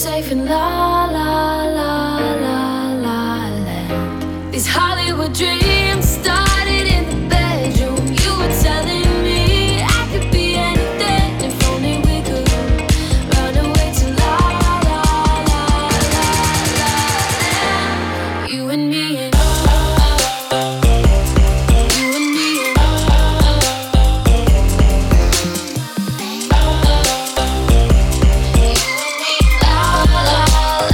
safe in la la la la la land. These Hollywood dreams started in the bedroom. You were telling me I could be anything if only we could run away to la la la la la land. You and me and you and me and la la la.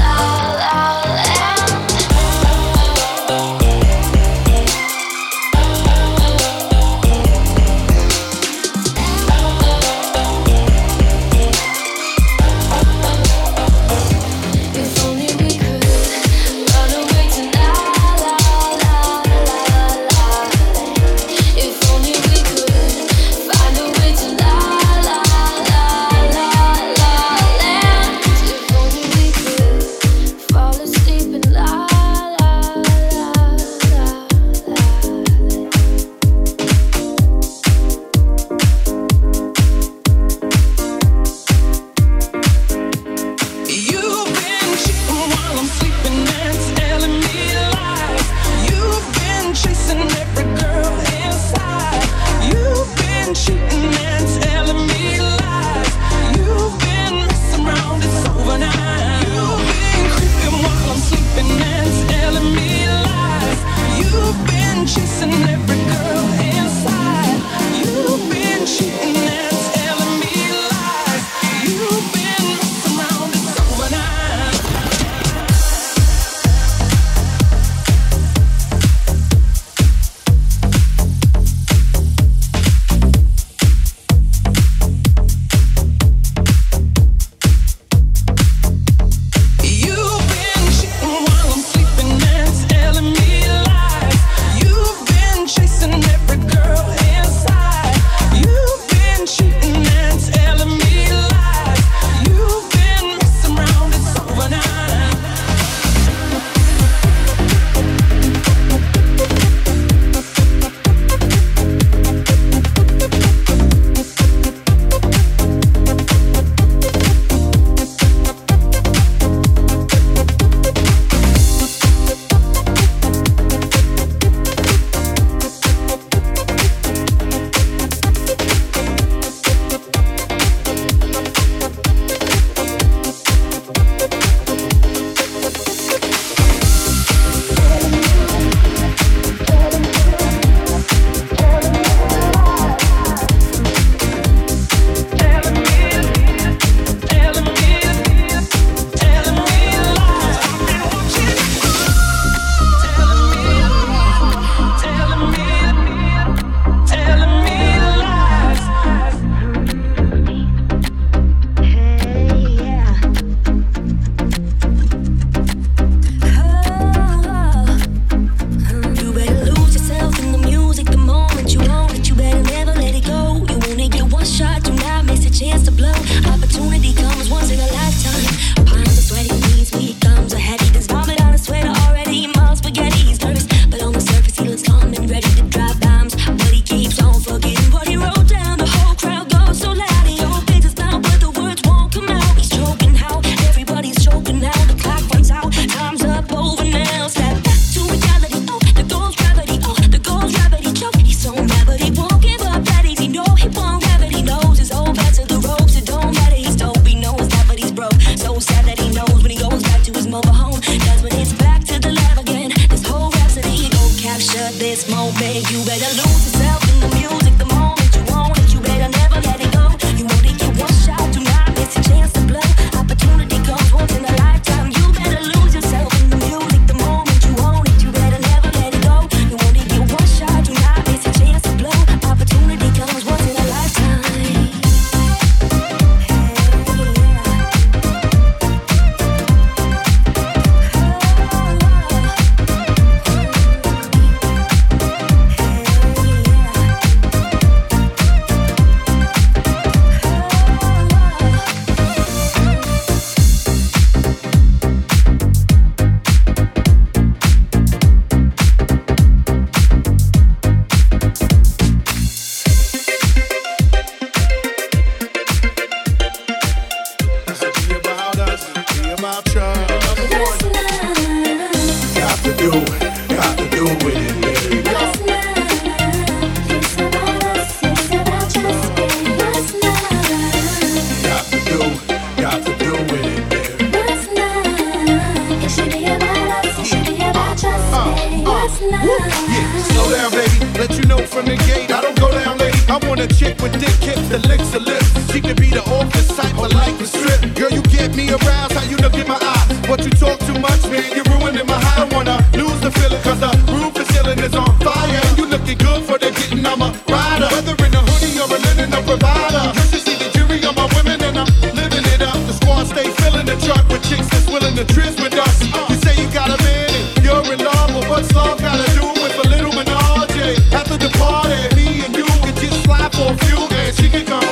from the gate. I don't go down late. I want a chick with thick hips that licks her lips. She could be the office type, but like the strip. Girl, you get me aroused, how you look in my eyes. But you talk too much, man, you're ruining my high. I don't wanna lose the feeling, cause the roof is ceiling is on fire. And you looking good for the getting, I'm a rider. Whether in a hoodie or a linen, a provider. You should see the jury on my women and I'm living it up. The squad stay filling the truck with chicks that's willing to trizz with us. You say you got a man and you're in love, but what's love gotta do with a little menage? After the party, me and you can just slide for a few and she can come.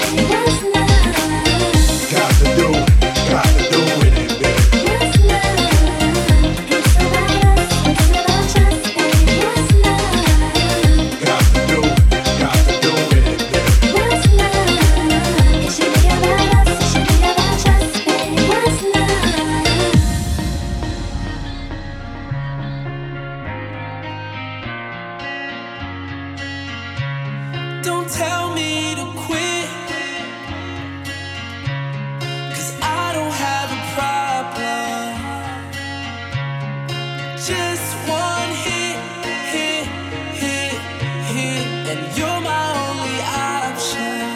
Got to do with it, baby. Got to do with it, baby. Don't tell me to quit, 'cause I don't have a problem. Just one hit, and you're my only option.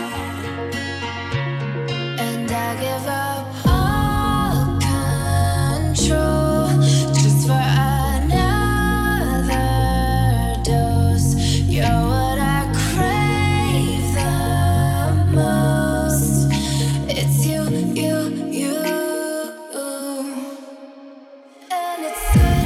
And I give up all control just for another dose. You're what I crave the most. It's you. And it's good.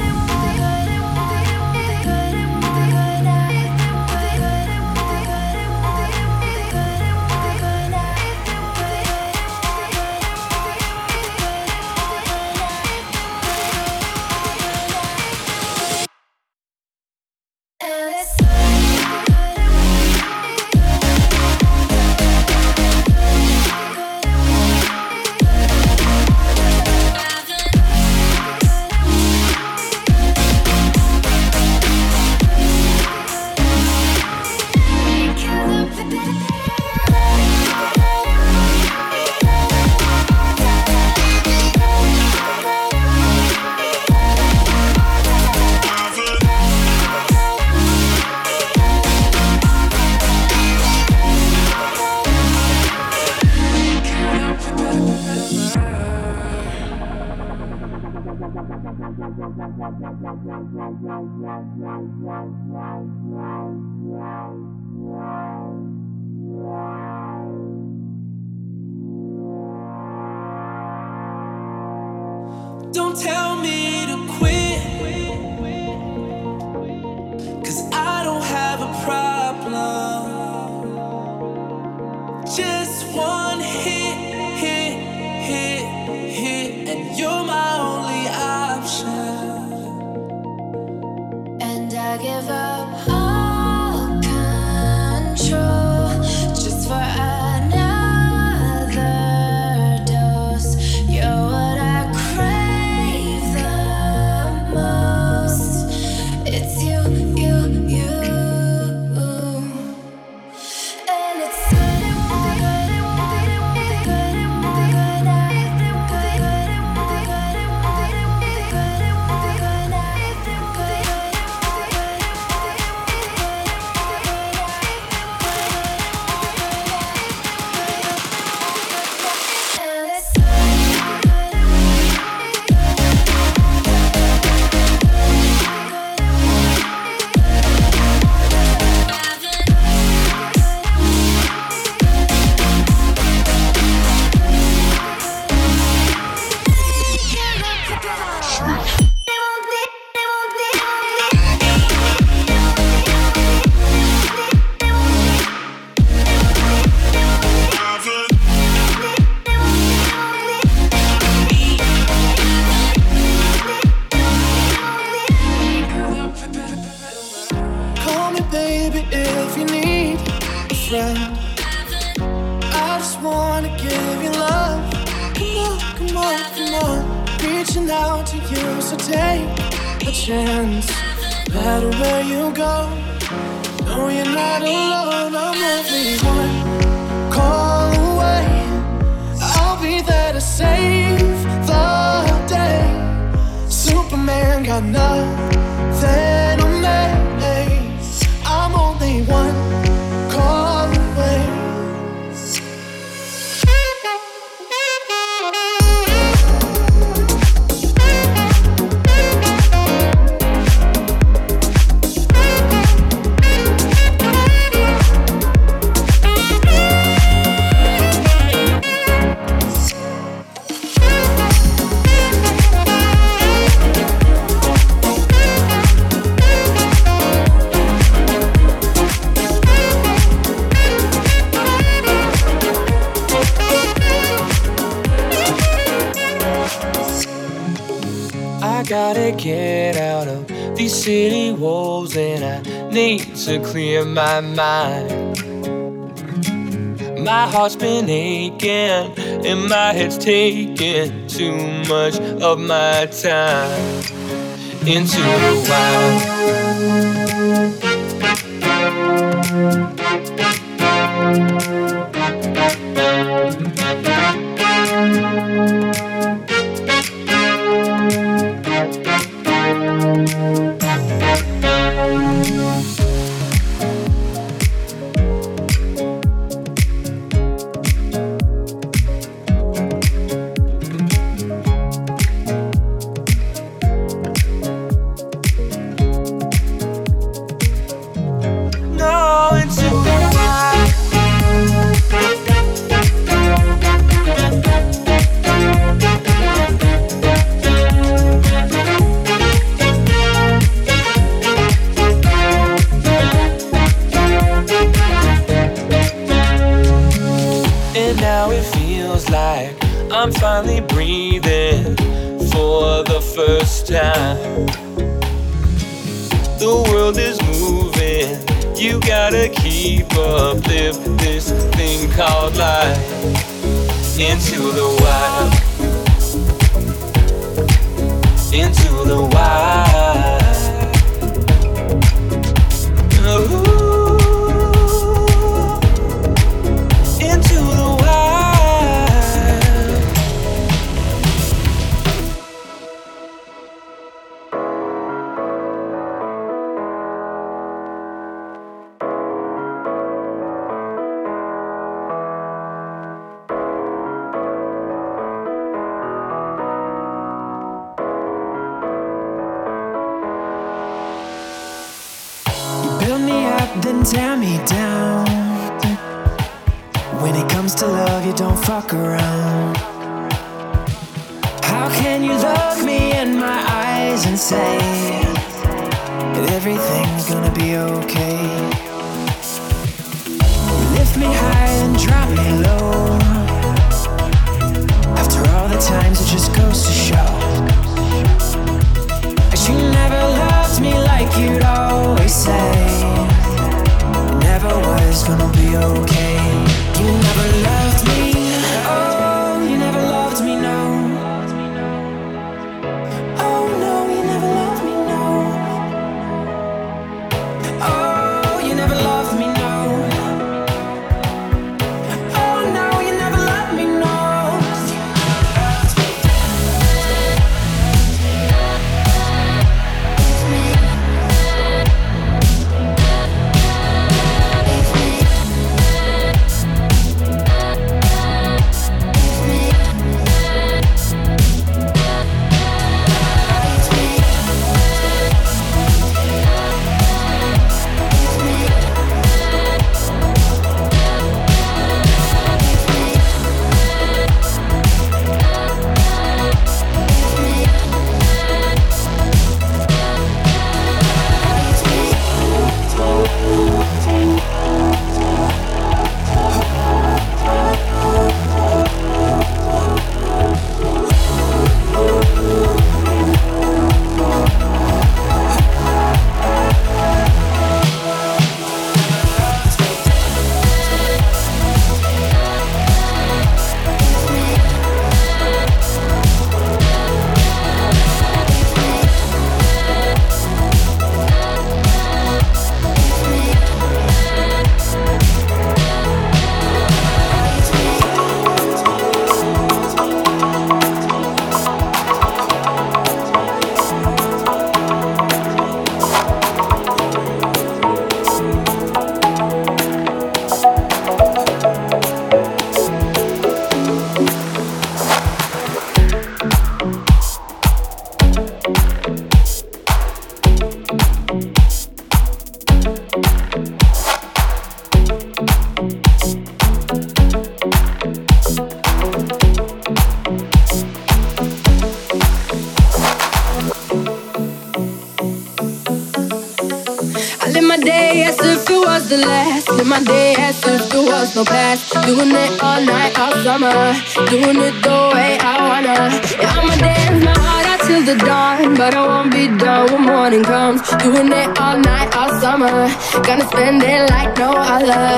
Don't tell me to quit, 'cause I don't have a problem. Just one hit, and you're my only option. And I give up all control just for another dose. You're what I crave the most. It's you. And it's reaching out to you, so take a chance. No matter where you go, no, you're not alone. I'm only one call away. I'll be there to save the day. Superman got nothing on me. I'm only one gotta get out of these city walls, and I need to clear my mind. My heart's been aching and my head's taking too much of my time. Into the wild. I'm finally breathing for the first time. The world is moving, you gotta keep up, live this thing called life. Into the wild, into the wild. Ooh. Into the wild. Then tear me down. When it comes to love, you don't fuck around. How can you look me in my eyes and say that everything's gonna be okay? You lift me high and drop me low. After all the times, it just goes to show that you never loved me like you'd always say. Never was gonna be okay. You never loved me. Oh, you never loved me, no. Oh no, you never loved me, no. Oh, you never loved me, no. Oh no, you never loved me, no. The last in my day as if there was no past. Doing it all night, all summer. Doing it the way I wanna. Yeah, I'ma dance my heart out till the dawn, but I won't be done when morning comes. Doing it all night, all summer. Gonna spend it like no other.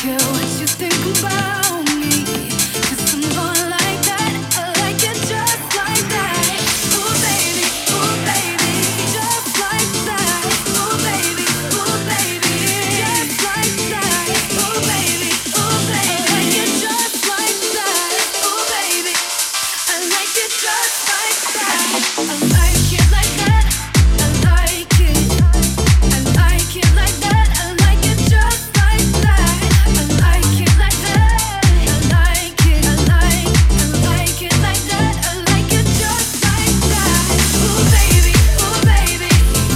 care what you think about me, 'cause I'm going like that. I like it just like that. Ooh baby, just like that. Ooh baby, just like that. Ooh baby, I like it just like that. Ooh baby, I like it just like that. I like it like that. I like it. I like it like that. I like it just like that. I like it like that. I like it. I like it like that. I like it just like that. Ooh baby, ooh baby.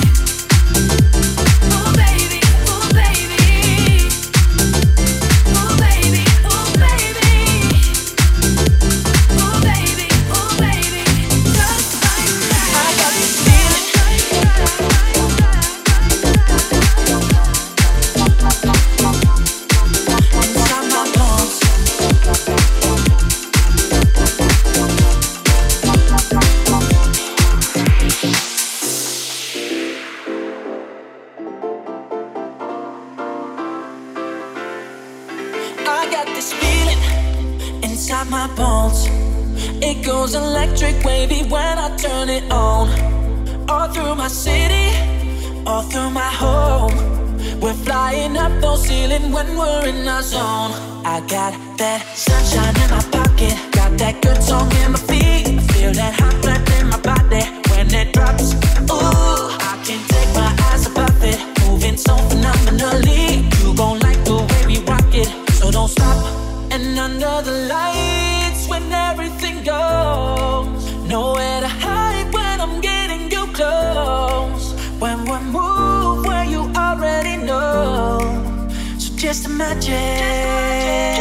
Ooh baby, ooh baby. Ooh baby, ooh baby. Ooh baby, just like that. I got this feeling inside my bones. I got this feeling inside my bones. It goes electric wavy when I turn it on. All through my city, all through my home. We're flying up those ceilings when we're in our zone. I got that sunshine in my pocket, got that good song in my feet. Feel that hot blood in my body when it drops. Ooh, I can't take my eyes above it, moving so phenomenally. You gon' like the way we rock it, so don't stop. And under the lights when everything goes, nowhere to hide when I'm getting you close. When we move where you already know, so just imagine.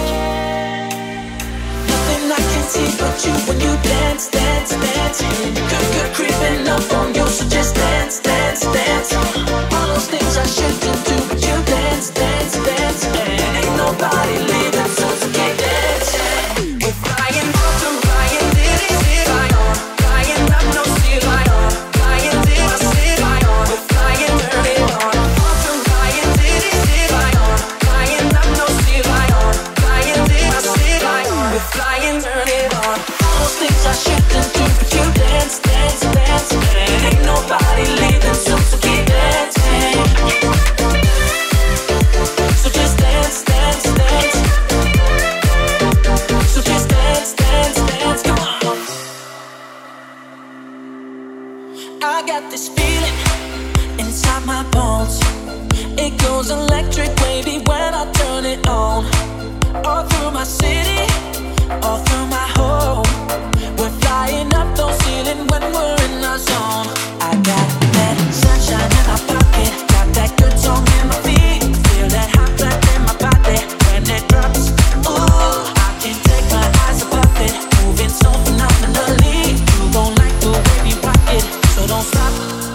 Nothing I can see but you when you dance, dance, dance. Good creeping up on you, so just dance, dance, dance. All those things I shouldn't do, but you dance, dance, dance. And ain't nobody leaving, so keep dancing. We're flying up to flying, diddy, fly on. Flying up, no sea, fly on. Flying, did I see, fly on. We're flying, turn it on. Up to flying, diddy, fly on. Flying up, no sea, fly on. Flying, did I see, fly on. We're flying, turn it on. All those things I shouldn't do, but you dance, dance, dance. And ain't nobody leaving, so keep dancing. So just dance, dance, dance. So just dance, dance, dance. Come on. I got this feeling inside my bones. It goes electric wavy when I turn it on. All through my city, all through my home. We're flying up those ceilings when we're in our zone. I got that sunshine in my pocket, got that good song in my feet. Feel that hot blood in my body when it drops. Ooh, I can't take my eyes above it, moving so phenomenally. You gon' like the way we rock it, so don't stop.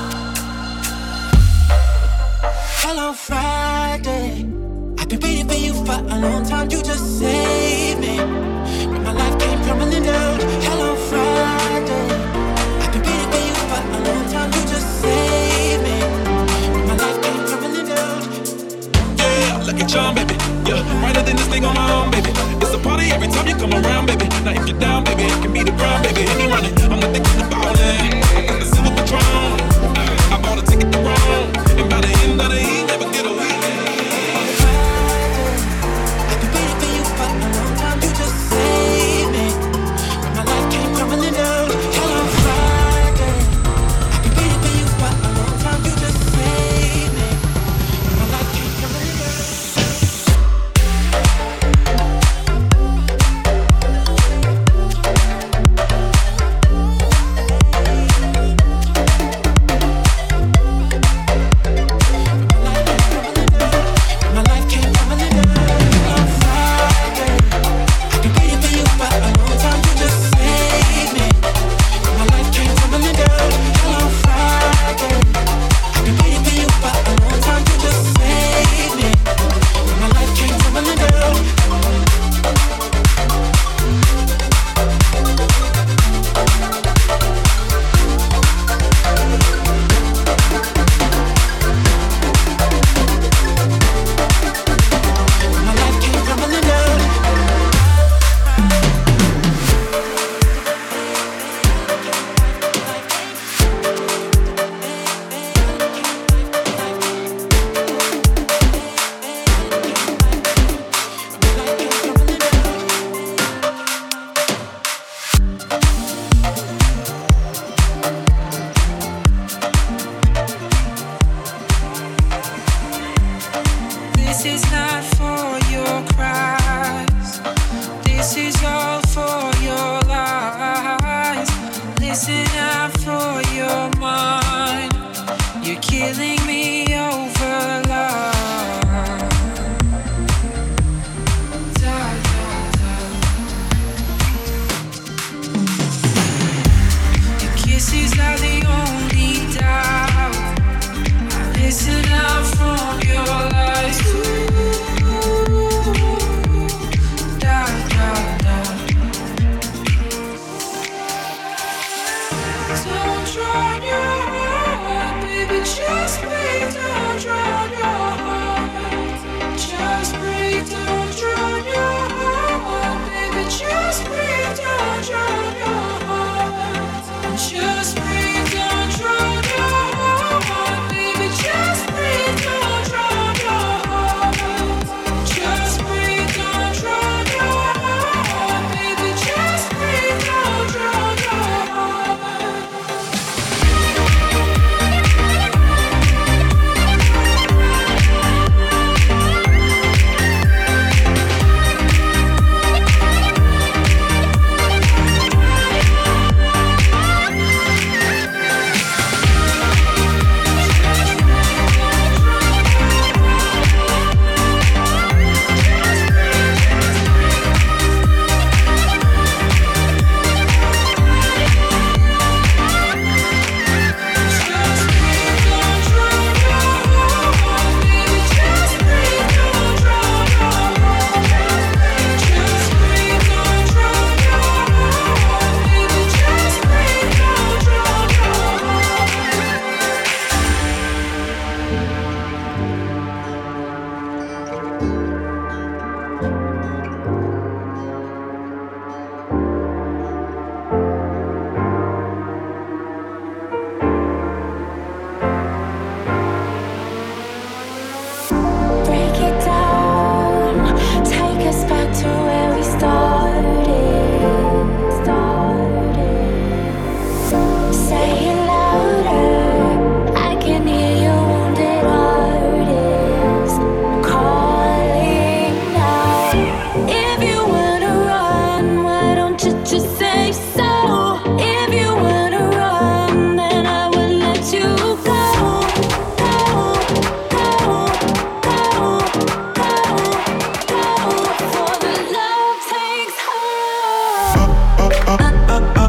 Hello Friday, I've been waiting for you for a long time. You just saved me when my life came crumbling down. Hello Friday, I've been waiting for you for a long time. You just saved me when my life came crumbling down. Yeah, look at y'all, baby. Yeah, brighter than this thing on my own, baby. It's a party every time you come around, baby. Now if you're down, baby, it can be the ground, baby. Hit me running, I'm not thinking about it. I got the silver Patron, I bought a ticket to Rome, and by the end of the evening, never get away. I've been waiting for you for a long time. You just saved me when my life came crumbling down. Hello Friday, I've been waiting for you for a long time. You just saved me when my life came crumbling down. out for your cries. This is all for your lies. Listen out for your mind. You're killing me over love. Da, da, da. Your kisses are the only doubt. Listen out from your lies. Da, da, da. Don't drown your heart, baby, just breathe. Don't drown your heart. Just breathe, don't drown your heart, baby, just breathe. Don't drown your heart. Just breathe, don't drown your heart, baby, just breathe. Don't drown your heart. Just breathe, don't drown your heart, baby, just breathe. Don't drown your heart. Break it down, take us back to where we started. Say it louder, I can hear your wounded heart is calling now. If you wanna run, why don't you just say so? If you wanna run, then I will let you go. For the love takes hold.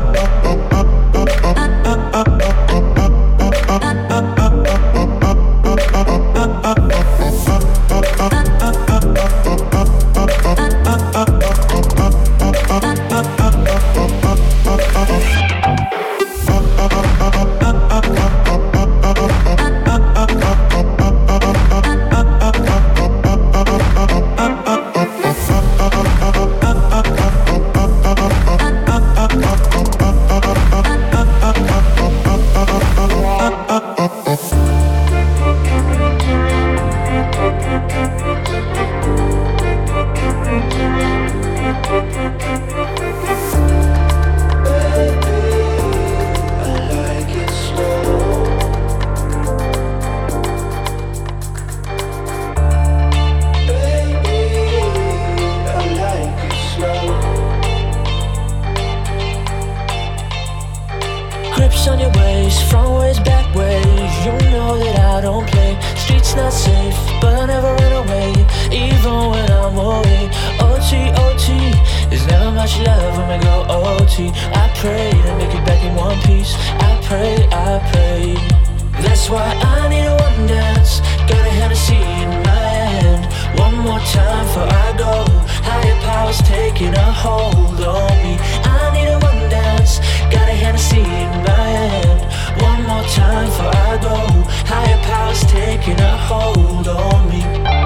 Grips on your waist, front ways, back ways. You know that I don't play. Streets not safe, but I never run away, even when I'm away. OT, OT, there's never much love when we go OT. I pray to make it back in one piece. I pray, I pray. That's why I need a one dance. Got a Hennessy in my hand. One more time before I go. Higher powers taking a hold on me. I need a one dance. Got a Hennessy in my hand. One more time before I go. Higher powers taking a hold on me.